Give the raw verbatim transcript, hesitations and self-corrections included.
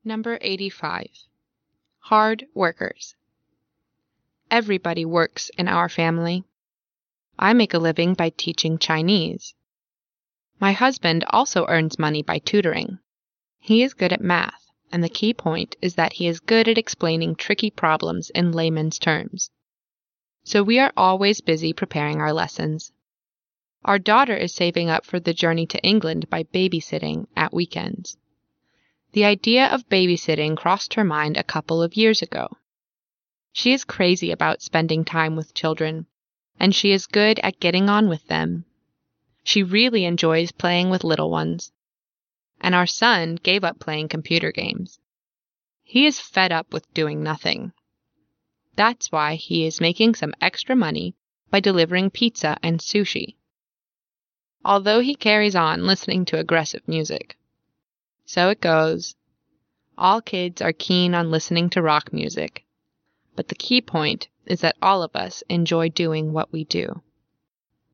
Number eighty-five. Hard workers. Everybody works in our family. I make a living by teaching Chinese. My husband also earns money by tutoring. He is good at math, and the key point is that he is good at explaining tricky problems in layman's terms. So we are always busy preparing our lessons. Our daughter is saving up for the journey to England by babysitting at weekends. The idea of babysitting crossed her mind a couple of years ago. She is crazy about spending time with children, and she is good at getting on with them. She really enjoys playing with little ones. And our son gave up playing computer games. He is fed up with doing nothing. That's why he is making some extra money by delivering pizza and sushi. Although he carries on listening to aggressive music. So it goes. All kids are keen on listening to rock music. But the key point is that all of us enjoy doing what we do.